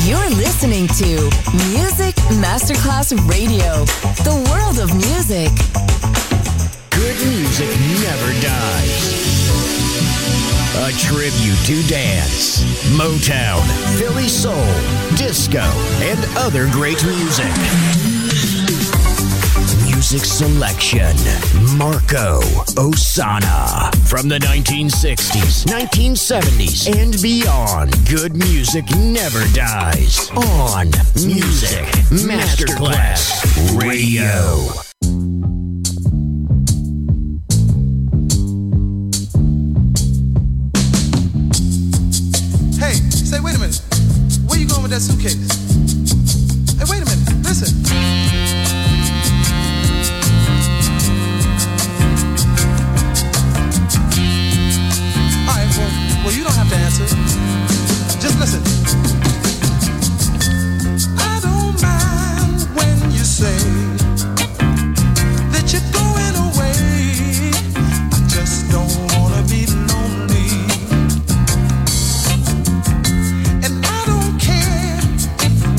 You're listening to Music Masterclass Radio, the world of music. Good music never dies. A tribute to dance, Motown, Philly soul, disco, and other great music. Music selection, Marco Ossanna. From the 1960s, 1970s, and beyond, good music never dies. On Music Masterclass Radio. Hey, say, wait a minute. Where you going with that suitcase? Hey, wait a minute. Listen. Well, you don't have to answer. Just listen. I don't mind when you say that you're going away. I just don't wanna be lonely. And I don't care if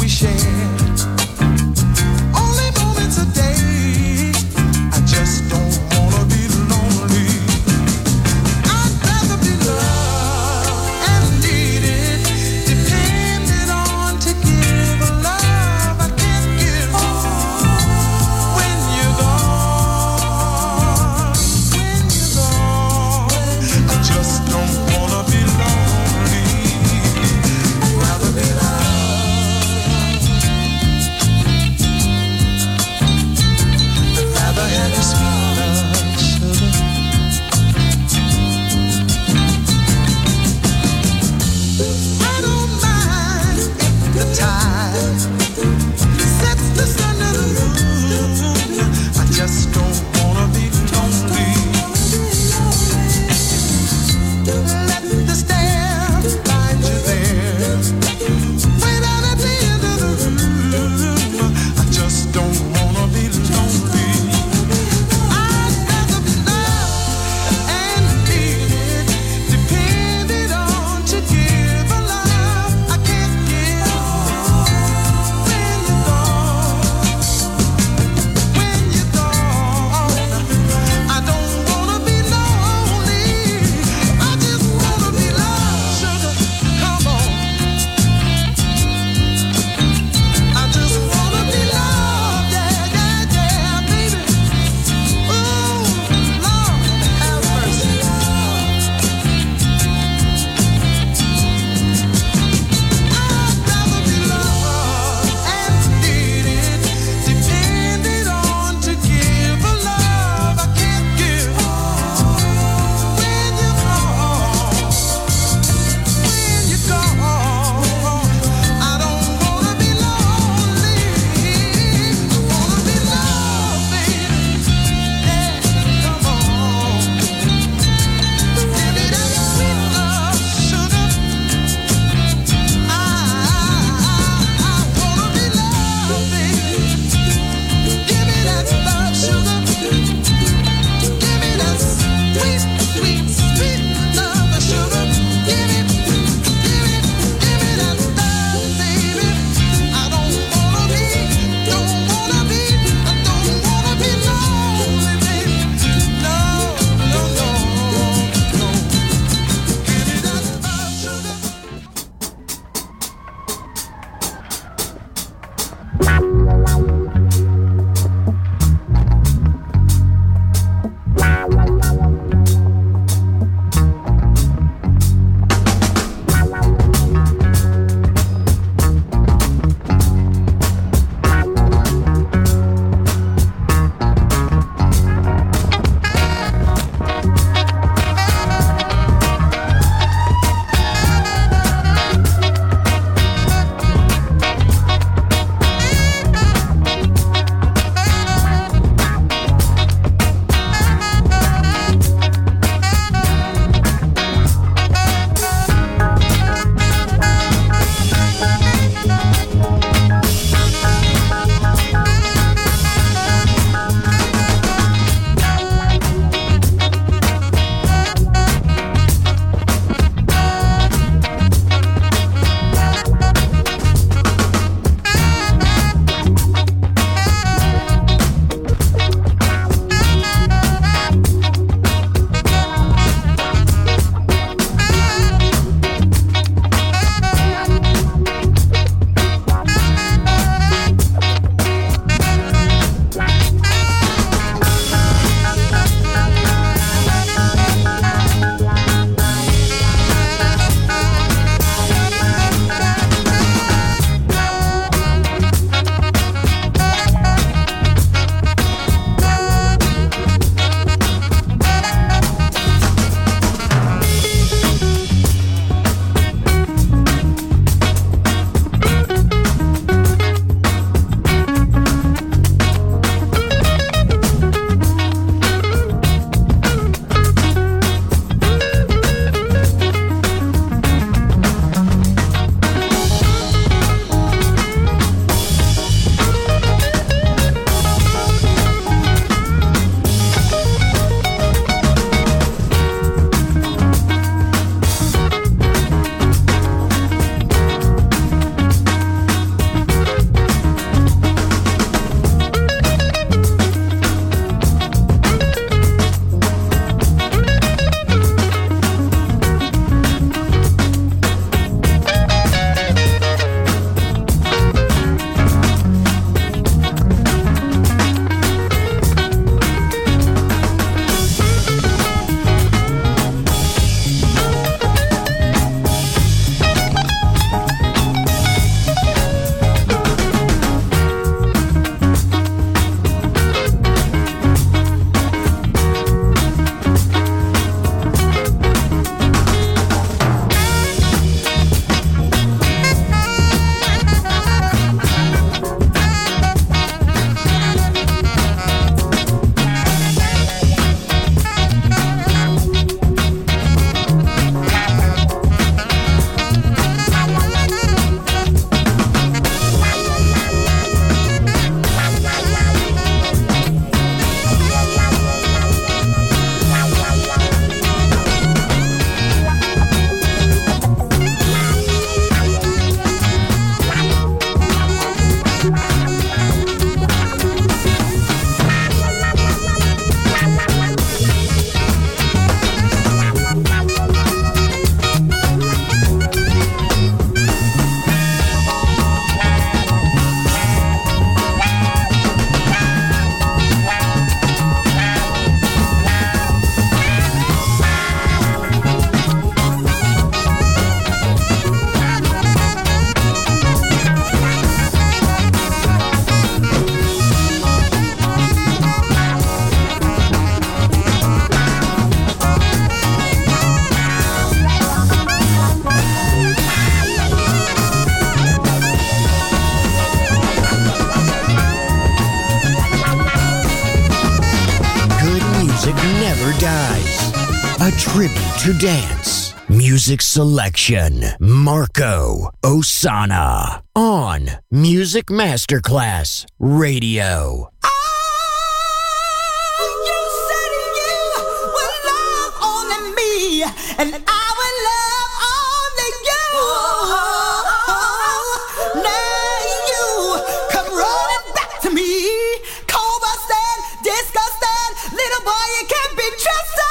tribute to dance. Music selection, Marco Ossanna on Music Masterclass Radio. And I will love only you. Now you come running back to me, cold busted, disgusted, little boy, you can't be trusted.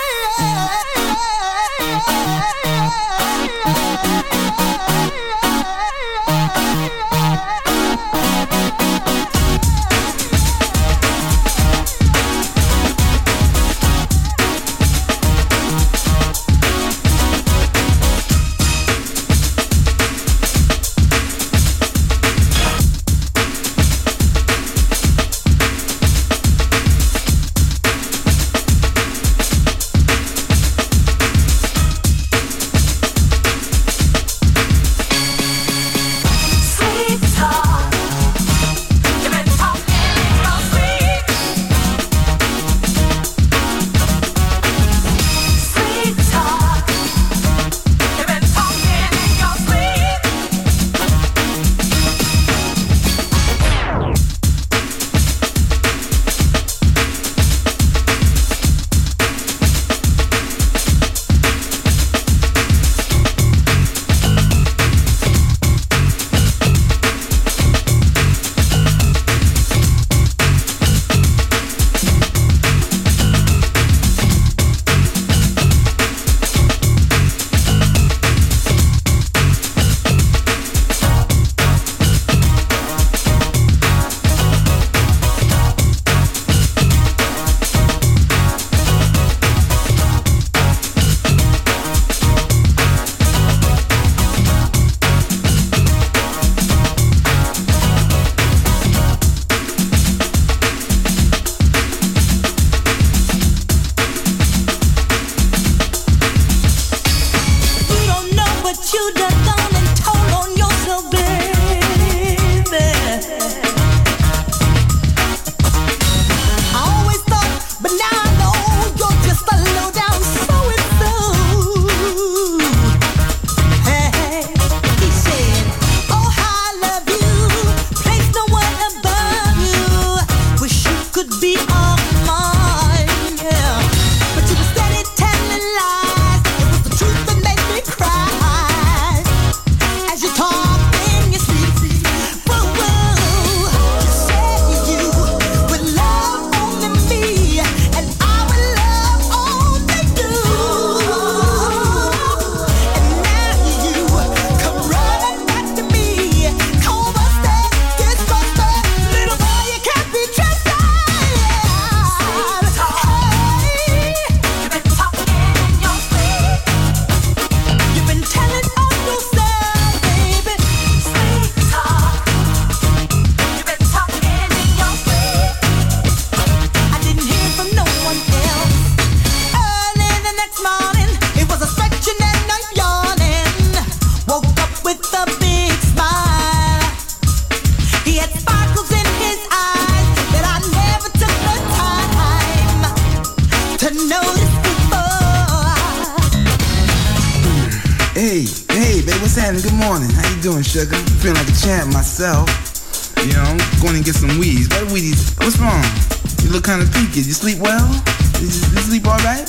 Good morning. How you doing, sugar? Feeling like a champ myself. You know, I'm going to get some weeds. What weedies? What's wrong? You look kind of peaked. You sleep well? Did you sleep all right?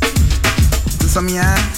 Is some of your eye?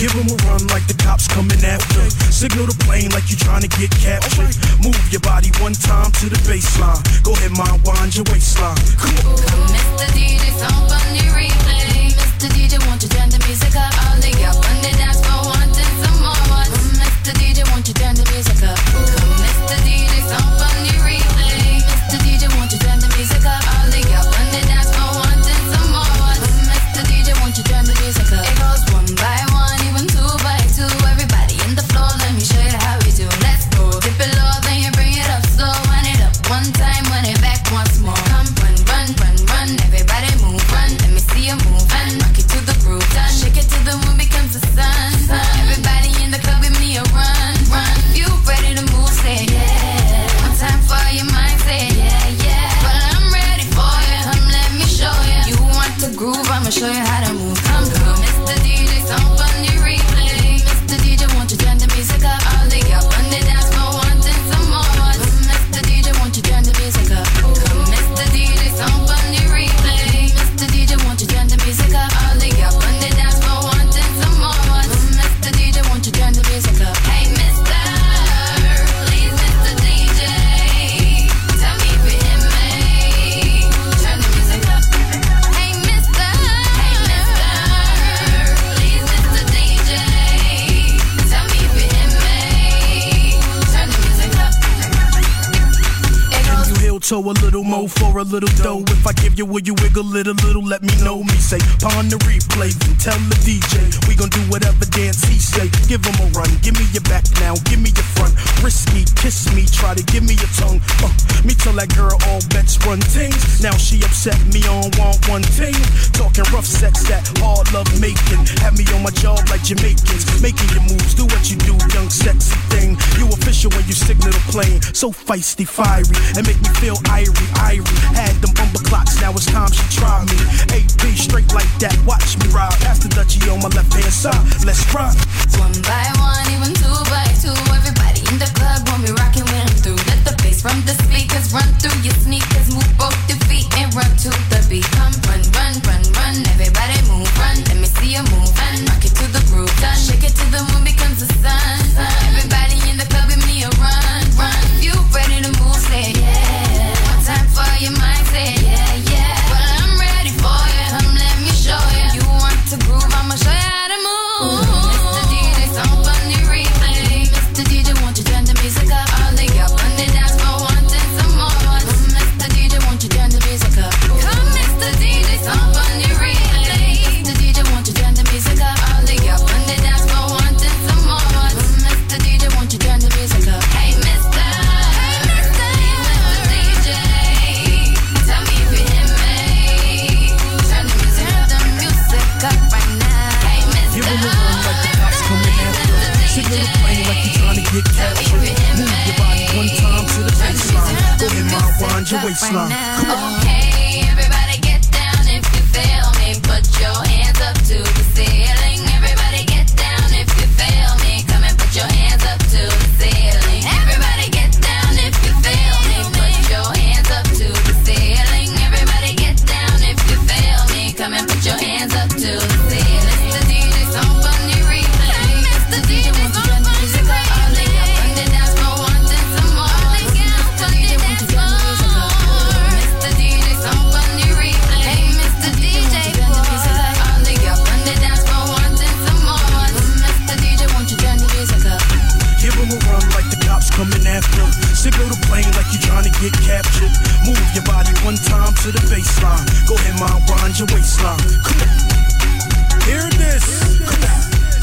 Give them a run like the cops coming after. Signal the plane like you trying to get captured. Move your body one time to the baseline. Go ahead, mind, wind your waistline. Come on. Come, Mr. DJ, song on the replay. Mr. DJ, won't you turn the music up? All the up on the dance floor, wanting some more. Mr. DJ, won't you turn the music up? Come, Mr. DJ, song on the replay. Mr. DJ, won't you turn the music up? All the up on the dance floor, wanting some more. Mr. DJ, won't you turn the music up? It goes one by one, even two by two. Everybody in the floor, let me show you how we do. Let's go. Dip it low, then you bring it up slow. Wind it up one time, wind it back once more. Come, run, run, run, run. Everybody move, run. Let me see you move and rock it to the groove. Done. Shake it till the moon becomes the sun. Everybody in the club with me a run, run. You ready to move? Say yeah. One time for your mind, say yeah, yeah. Well, I'm ready for you. Come, let me show you. You want to groove? I'ma show you how to move. Come, come, Mr. DJ, song on the replay. Mr. DJ, won't you turn the music up? All the up on the dance floor, wanting some more. Mr. DJ, won't you turn the music up? Come, Mr. DJ, song on the replay. Mr. DJ, won't you turn the music up? All the up on the dance floor, wanting some more. Mr. DJ, won't you turn the music up? Hey, Mr. Please, Mr. DJ, tell me if you hear me. Turn the music up. Hey, Mr. Please, Mr. DJ, tell me if you hear me. Turn the music up. It goes. You heel toe a little mo for a little dough. If I give you, will you wiggle it a little? Let me know. Me say, pawn the replay and tell the DJ we gon' do whatever dance he say. Give him a run, give me your back now, give me your front. Risky, kiss me, try to give me your tongue. Me tell that girl all bets run things. Now she upset me on want one thing. Talking rough sex, that hard love making. Have me on my job like Jamaicans. Making your moves, do what you do, young sexy thing. You official when you signal the plane. So feisty, fiery, and make me feel irie. Had them bumper clocks, now it's time she try me. AP straight like that, watch me ride. Pass the Dutchie on my left hand side, let's rock. One by one, even two by two. Everybody in the club when we rockin' with them through. Let the bass from the speakers run through your sneakers. Move both your feet and run to the beat. Come, run, run, run, run. Everybody move, run. Let me see you move and rock it to the groove. Done. Shake it till the moon becomes the sun. Everybody in the club with me a run, run. You ready to move? Say yeah. One time for your mind, say yeah, yeah. Well, I'm ready for you. Come, let me show you. You want to groove? I'ma show you how to move. Mr. DJ, song on the replay. Mr. DJ, won't you turn the music up? All the up on the dance floor, wanting some more. Mr. DJ, won't you turn the music up? Come, Mr. DJ, song on the replay. Mr. DJ, won't you turn the music up? All the up on the dance floor, wanting some more. Mr. DJ, won't you turn the music up? Hey, Mr. DJ, tell me if you hear me. Turn the music up right now. Hey, Mr. Give him a run like the cops coming after. Signal the plane like you trying to get captured. Move your body one time to the baseline. Go ahead, mind, wind your waistline. Come on. Okay, everybody get down if you feel me. Put your hands up to the ceiling. Everybody get down if you feel me. Come and put your hands up to the ceiling. Everybody get down if you feel me. Put your hands up to the ceiling. Everybody get down if you feel me. Come and put your hands up to the ceiling. Mr. DJ, song on the replay. Mr. DJ, won't you turn the music up? All the up on the dance floor, wanting some more. Mr. DJ, won't you turn the music up? Mr. DJ, song on the replay. Hey, Mr. DJ, won't you turn the music up? All the up on the dance floor, wanting some more. Mr. DJ, won't you turn the music up? Give him a run like the cops coming after. Signal the plane like you trying to get captured. Move your body one time to the baseline. Go ahead, mind, wind your waistline. Come on. Hear this. Come on.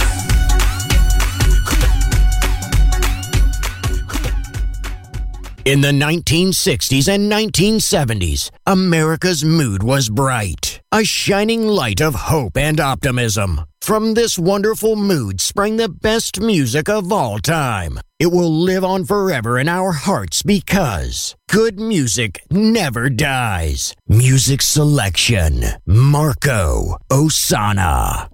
In the 1960s and 1970s, America's mood was bright, a shining light of hope and optimism. From this wonderful mood sprang the best music of all time. It will live on forever in our hearts because good music never dies. Music selection, Marco Ossanna.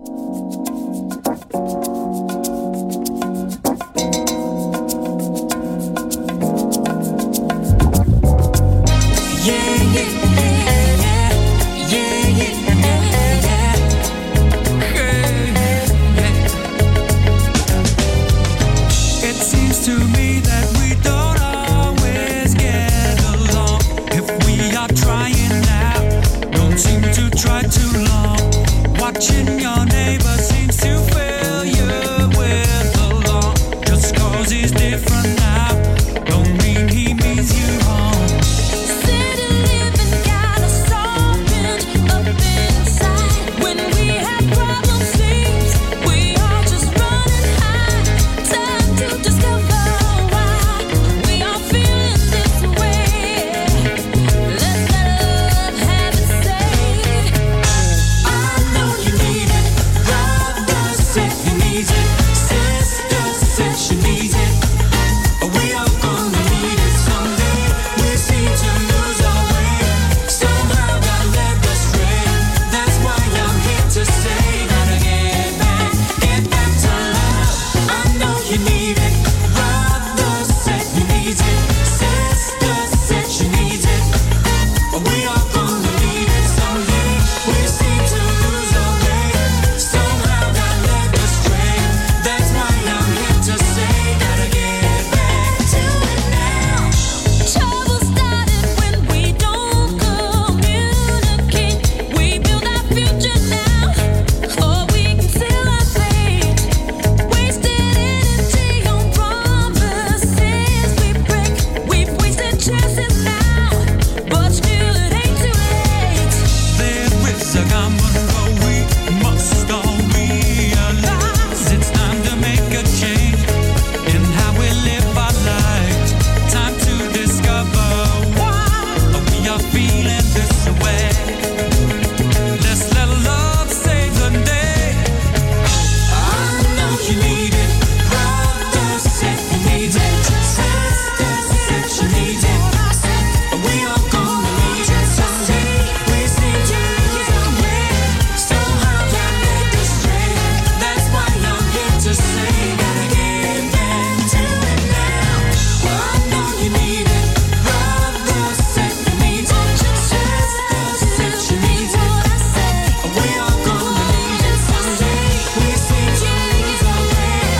needs it. Sister said she needs it. We are gonna need it someday. We seem to lose our way. Somehow got led astray. That's why I'm here to say, gotta get back to love. I know you need it. Brother said he needs it. Sister said she needs it. We are gonna need it someday. We seem to lose our way. Somehow got led astray. That's why I'm here to say, gotta get back to it now. Trouble started when we don't communicate. We build our future now, or we can seal our fate. Wasted energy on promises we break. We've wasted chances now, but still it ain't too late. There is a common goal we must all realize. It's time to make a change in how we live our lives. Time to discover why we are feeling this way. Let's let love save the day. I know you need it. Brother said he needs it. Sister said she needs it. We are gonna need it someday. We seem to lose our way. Somehow got led astray. That's why I'm here to say, gotta get back to it now. I know you need it. Brother said he needs it. Sister said she needs it. We are gonna need it someday. We seem to lose our way.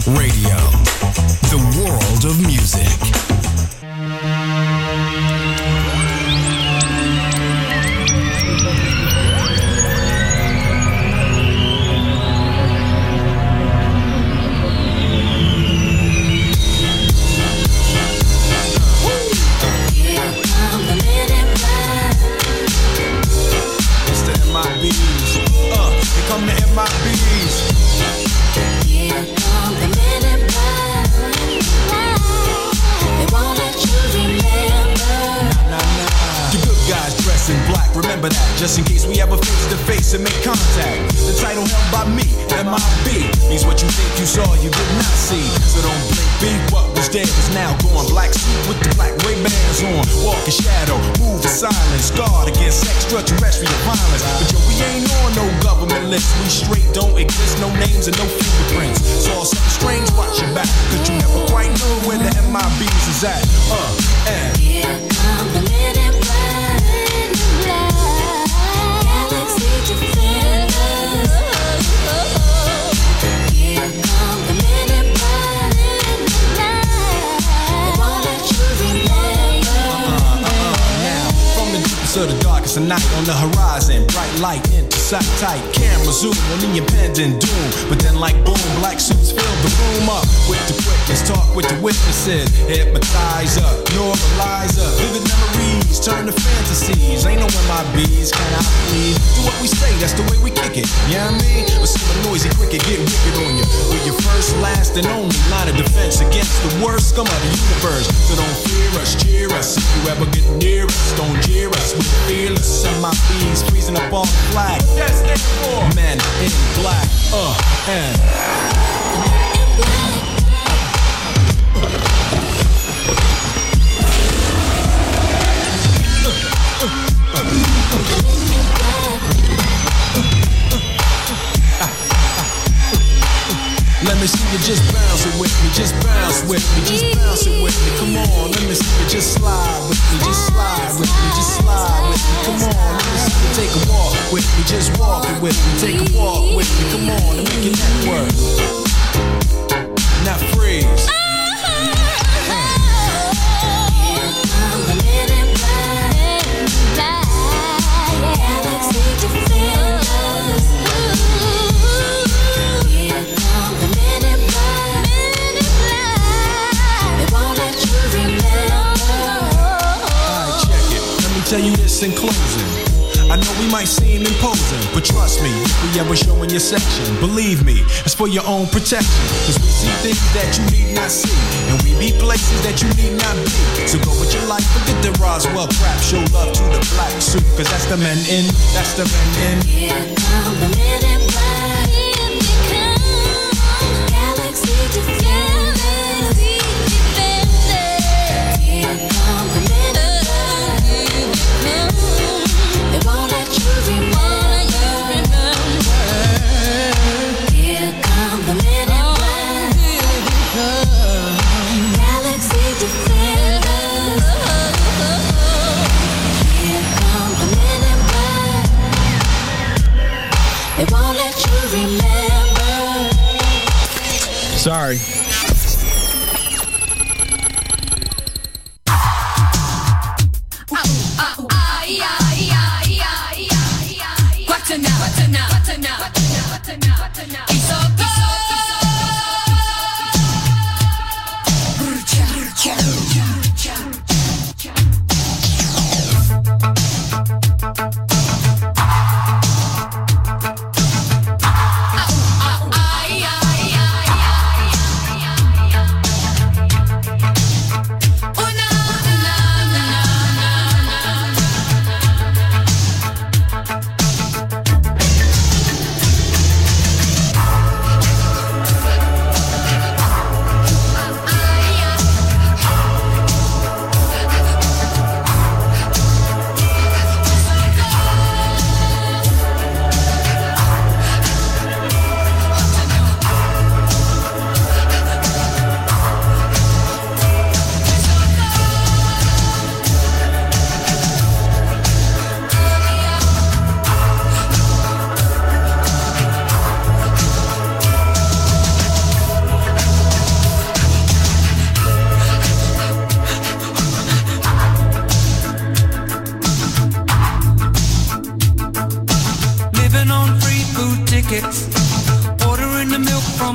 Radio, the world of music. Come to MIBs. Here come the men in black. They won't let you remember. Nah. The good guys dress in black, remember that. Just in case we ever face to face and make contact. The title held by me, MIB, means what you think you saw, you did not see. So don't blink, be what was dead is now gone. Black suit with the black Ray-Bans on. Walk in shadow, move in silence. Guard against extraterrestrial violence. But yo, we ain't on no government list. We straight don't exist, no names and no fingerprints. Saw something strange, watch your back. Cause you never quite know where the MIBs is at. And here come the men in black. Galaxy defenders. Here come the men in black. They won't let you remember. Now, from the deepest of the darkest of night on the horizon, bright light into sight tight. Camera zoom on the impending doom. But then like boom, black suits fill the room up with the quickness. Talk with the witnesses. Hypnotize up, normalize up. Vivid memories turn to fantasies. Ain't no MIBs, can I please? Do what we say, that's the way we kick it. You know what I mean? Or see a noisy cricket get wicked on you. We're your first, last, and only line of defense against the worst scum of the universe. So don't fear us, cheer us. If you ever get near us, don't jeer us. We're fearless. MIBs freezing up on the flag. Yes, men in black. And let me see you just bounce it with me, just bounce with me, just bounce it with me. Come on, let me see you just slide with me, just slide with me, just slide with me. Come on, let me see you take a walk with me, just walk it with me, take a walk with me. Come on, and make your neck work. Now freeze. Tell you this in closing. I know we might seem imposing, but trust me, if we ever showing your section, believe me, it's for your own protection. Cause we see things that you need not see, and we be places that you need not be. So go with your life, forget the Roswell crap. Show love to the black suit, cause that's the men in, that's the men in. Here come the men in black. Here they come. Galaxy defenders. Here come the men in black. They won't let you remember. Here come the men in black. Galaxy defenders. Here come the men in black. They won't let you remember. Sorry.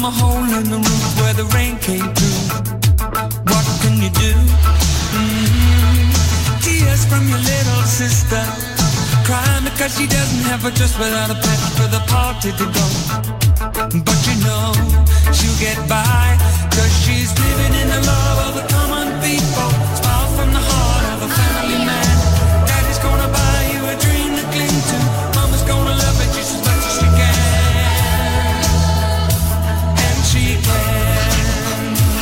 a hole in the roof where the rain came through. What can you do? Tears from your little sister, crying because she doesn't have a dress without a pet for the party to go. But you know she'll get by, cause she's living in the love of the common people. Smile from the heart of a family man. Daddy's gonna buy you a dream to cling to. Mama's gonna love it just as much as she can. And she can.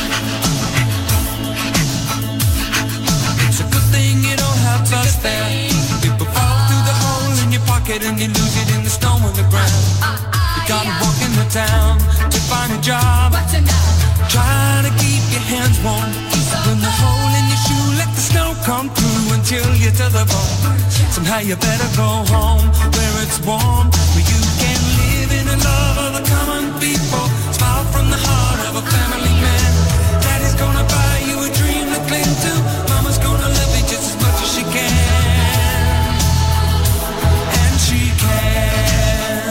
It's a good thing you don't have bus fare. People fall through the hole in your pocket and you lose it in the snow on the ground. You gotta walk in the town to find a job. Try to keep your hands warm. When the hole in your shoe, let the snow come through until you're to the bone. Somehow you better go home where it's warm, where you can live in the love of the common people. Smile from the heart of a family man. Daddy's gonna buy you a dream to cling to. Mama's gonna love you just as much as she can. And she can.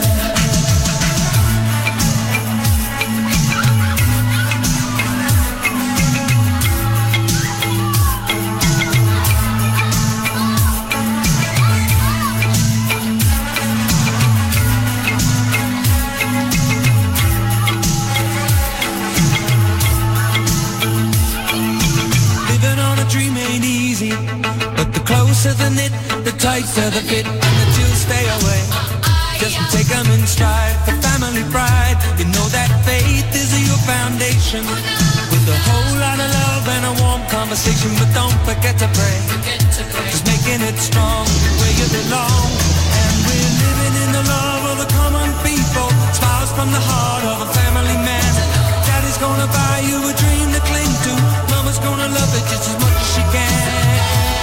Dream ain't easy, but the closer the knit, the tighter the fit, and the chills stay away. Just take them in stride for family pride. You know that faith is your foundation, with a whole lot of love and a warm conversation. But don't forget to pray, just making it strong where you belong. And we're living in the love of the common people. Smiles from the heart of a family man. Daddy's gonna buy you a dream to cling to. Mama's gonna love it just as much as she can.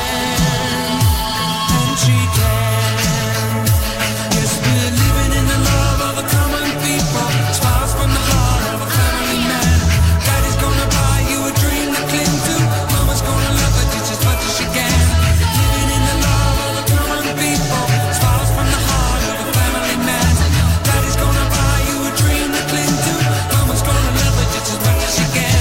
And she can. Yes, we're living in the love of the common people. Smiles from the heart of a family man. Daddy's gonna buy you a dream to cling to. Mama's gonna love it just as much as she can. Living in the love of the common people. Smiles from the heart of a family man. Daddy's gonna buy you a dream to cling to. Mama's gonna love it just as much as she can.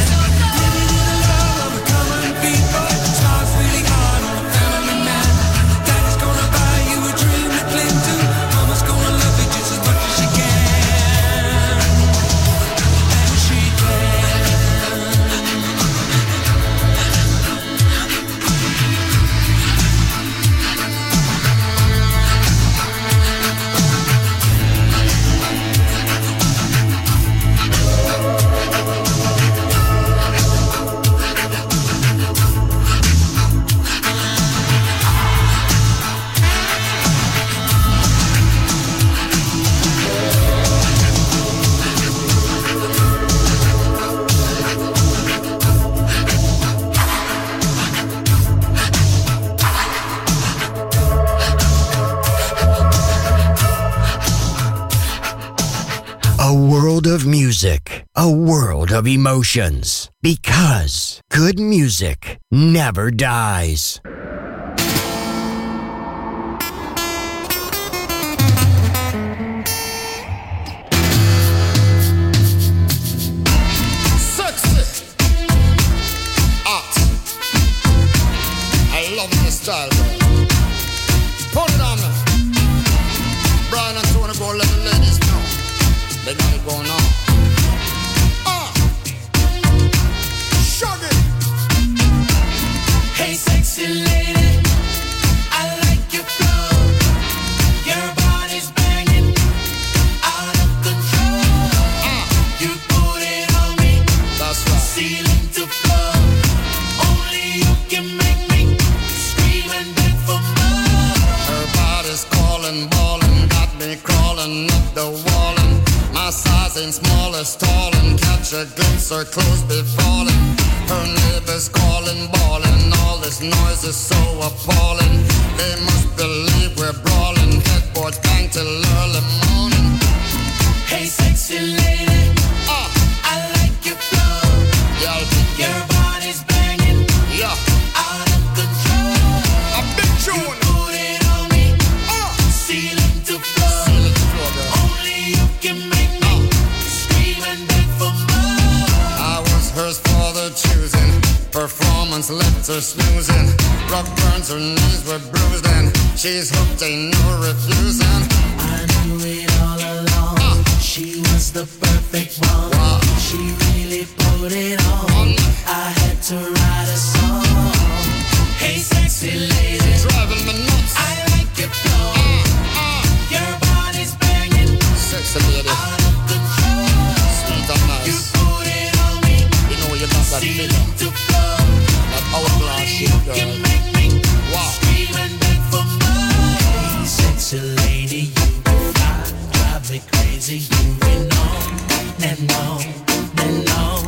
A world of music, a world of emotions, because good music never dies. Sexy, hot. I love the style, bro. Put it on me. Brian and Tony, go let the ladies know. They got it going on. Shug it. Hey, sexy lady, I like your flow. Your body's banging, out of control. You put it on me, that's right. Ceiling to floor. Only you can make me scream and beg for more. Her body's calling, ballin', got me crawling up the wall. My size ain't small as tall, and catch a glimpse, her clothes be falling. Her neighbors calling, bawling, all this noise is so appalling. They must believe we're brawling, headboard bang till early morning. Hey, sexy lady, I like your flow. Yeah, your body's banging, yeah, out of control. A big tune. You put it on me, ceiling to floor. Ceiling to floor, girl. Only you can make me scream and beg for more. once left her snoozing. Rock burns, her knees were bruised and she's hooked, ain't no refusing. I knew it all along. She was the perfect one. Wow. She really put it on. I had to write a song. Hey, sexy lady, driving me nuts. I like your flow. Your body's banging. Sexy lady, Out of control. sweet and nice. You put it on me. You know you got that Seem feeling, to flow. that hourglass shit, You girl. can make me Wow. scream and beg for more. Hey, sexy lady, you fly, drive me crazy. You been on and on and on.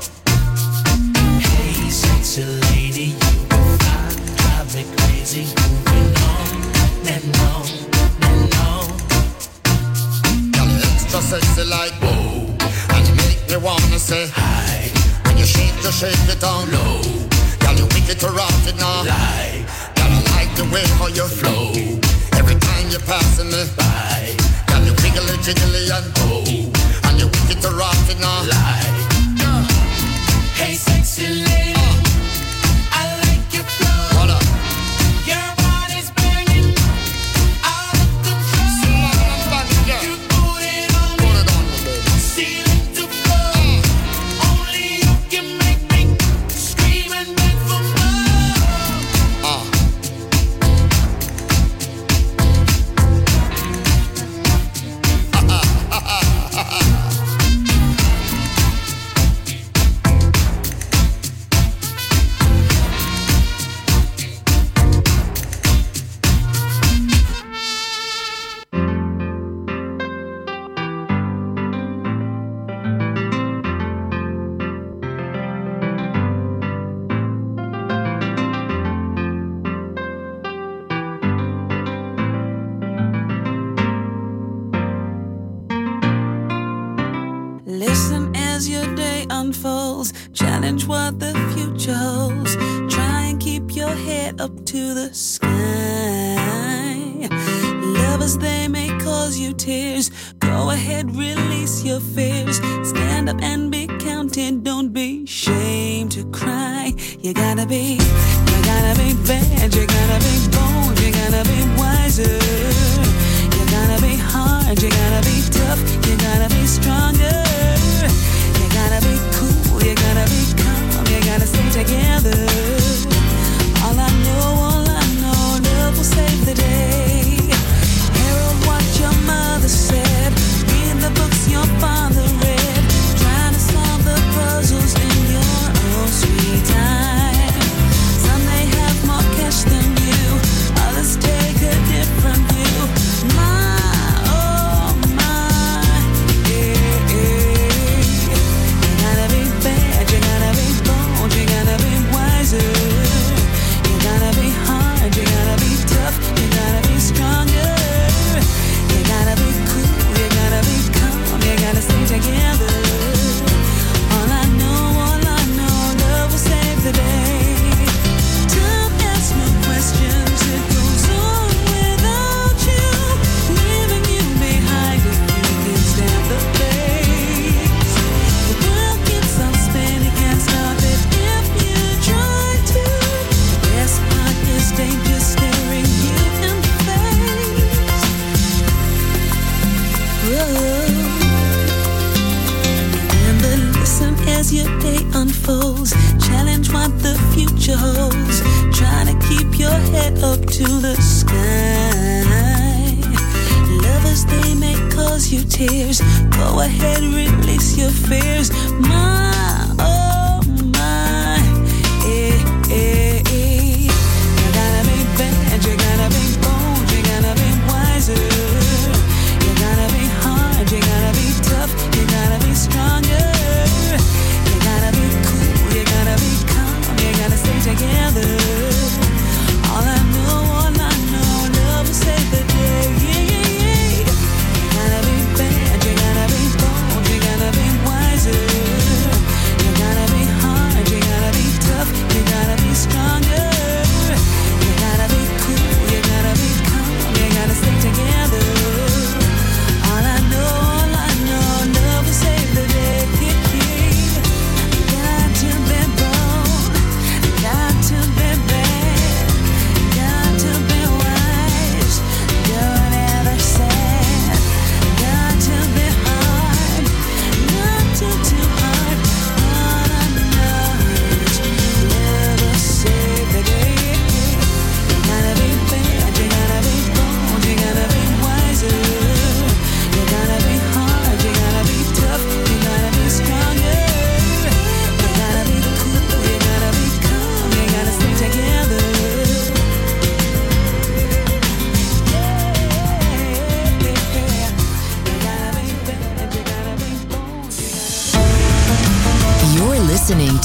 Hey, sexy lady, you fly, drive me crazy. You been on and on and on. Girl, you extra sexy like whoa, and you make me wanna say hi. When you shake it down low. Girl, you wicked to rock it now. Lie, Girl, I like the way how you flow. Every time you're passing me bye, girl, you wiggly jiggly and oh, and you wicked to rock it now. lie. Hey, sexy lady, I like your flow. Hold up. Your body's banging, out of control. You put it on me, Put it on me, baby. ceiling to floor. Only you can make me scream and beg for more. Listen as your day unfolds. Challenge what the future holds. Try and keep your head up to the sky. Lovers, they may cause you tears. Go ahead, release your fears. Stand up and be counted. Don't be ashamed to cry. You gotta be bad. You gotta be bold. You gotta be wiser. You gotta be hard. You gotta be tough. You gotta be stronger. You gotta be cool. You gotta be calm. You gotta stay together. All I know, love will save the day. Herald what your mother said. Read the books your father read. Trying to solve the puzzles in your own sweet time. Some may have more cash than you. Others take a different view. Oh my, yeah, yeah. You gotta be bad, you gotta be bold, you gotta be wiser. You gotta be hard, you gotta be tough, you gotta be stronger. You gotta be cool, you gotta be calm, you gotta stay together. All I know, love will save the day. Time asks no questions, it goes on without you, leaving you behind if you can stand the pace. The world keeps on spinning, can't stop it if you try to. The best part is danger staring you in the face. Remember, listen as your day unfolds. Challenge what the future holds. Try to keep your head up to the sky. Lovers, they may cause you tears. Go ahead, release your fears. Oh my, eh, eh, eh. You gotta be bad, you gotta be bold, you gotta be wiser. You gotta be hard, you gotta be tough, you gotta be stronger. You gotta be cool, you gotta be calm, you gotta stay together. All I know, love will save the day. Yeah, yeah, yeah. You gotta be bad, you gotta be bold, you gotta be wiser.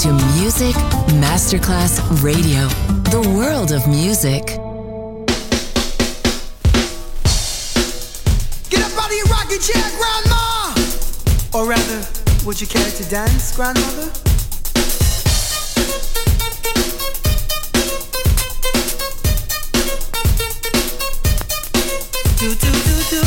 to Music Masterclass Radio, the world of music. Get up out of your rocking chair, Grandma! Or rather, would you care to dance, Grandmother? Do, do, do, do.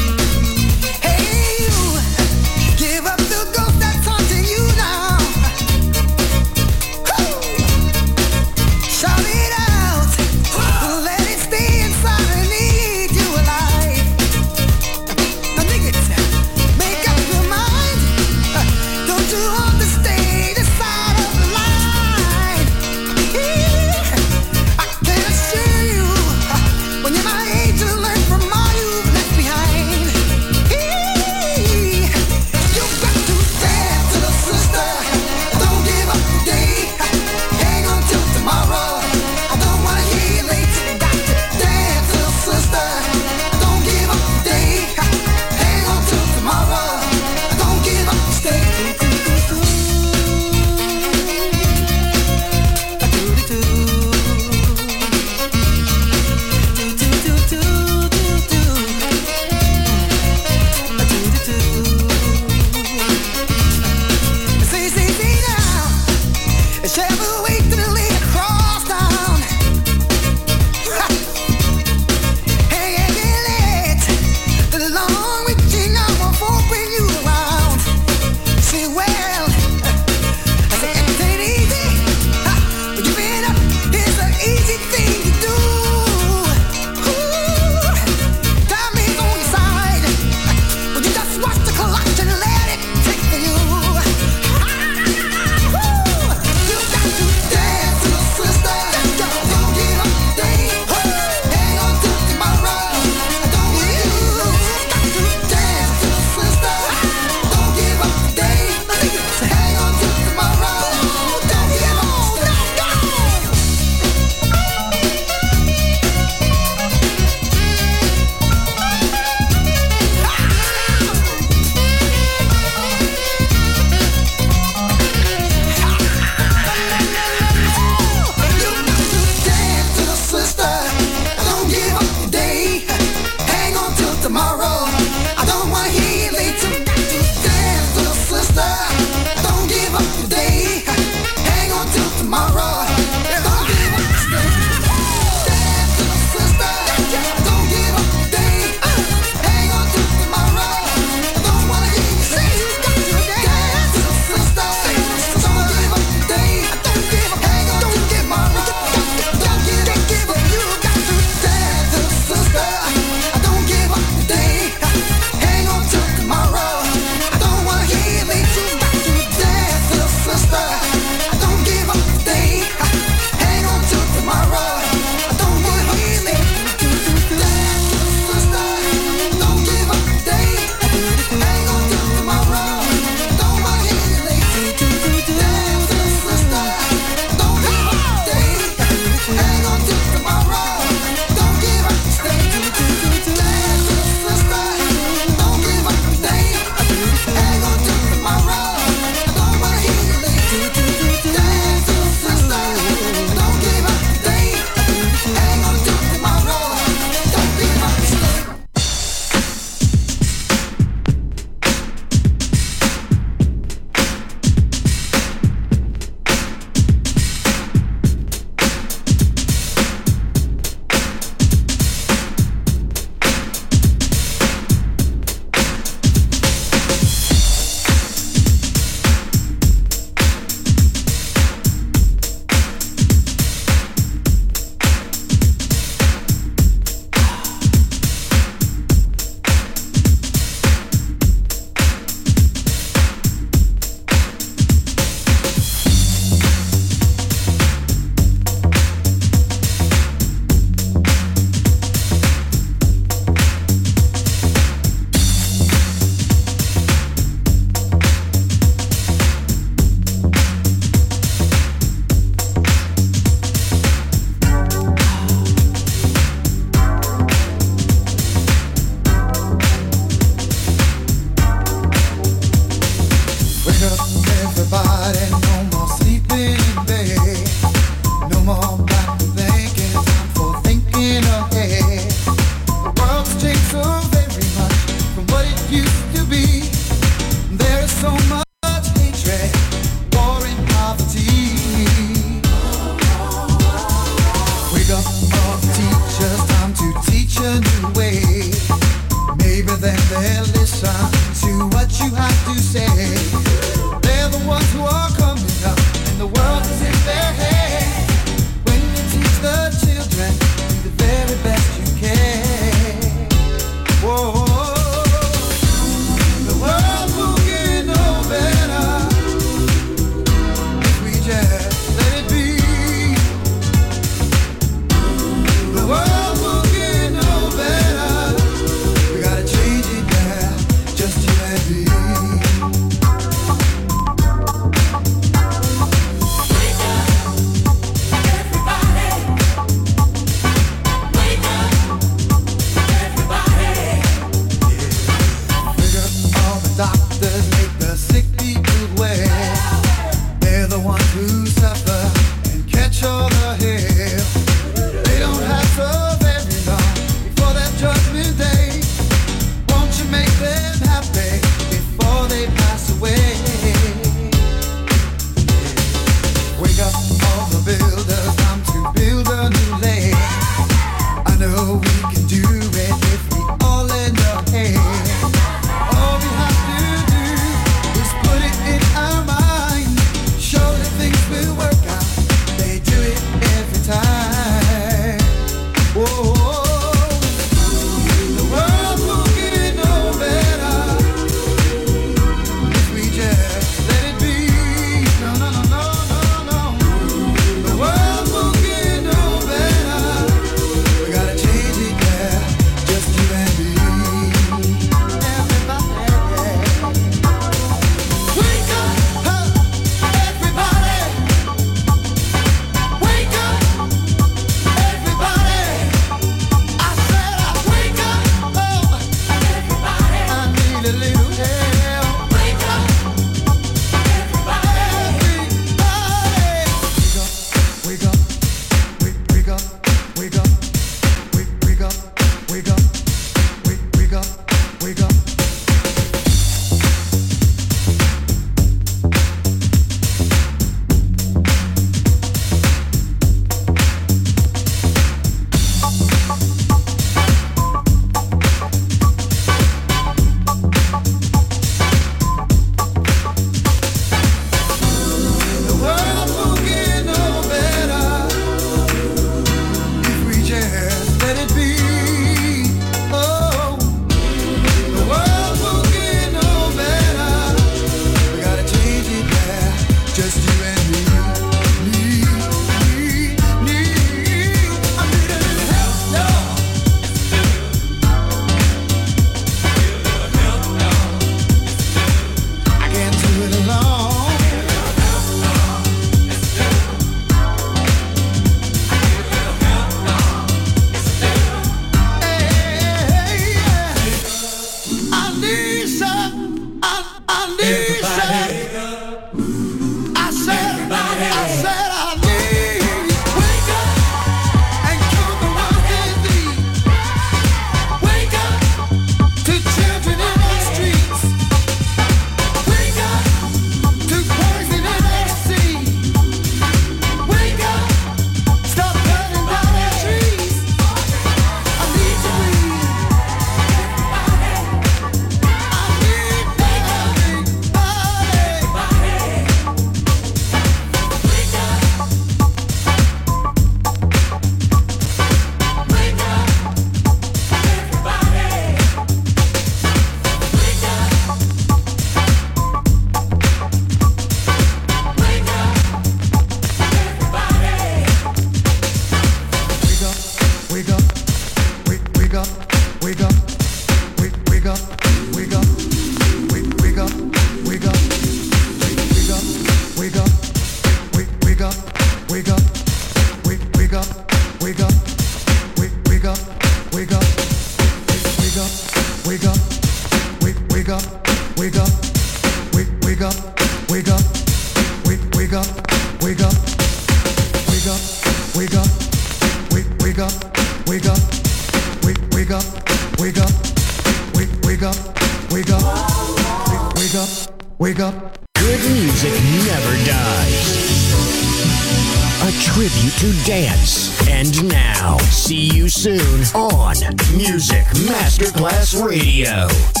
wake up, wake up, wake up, wake up, wake up, wake up, wake up, wake up, wake up. Good music never dies. A tribute to dance. And now, see you soon on Music Masterclass Radio.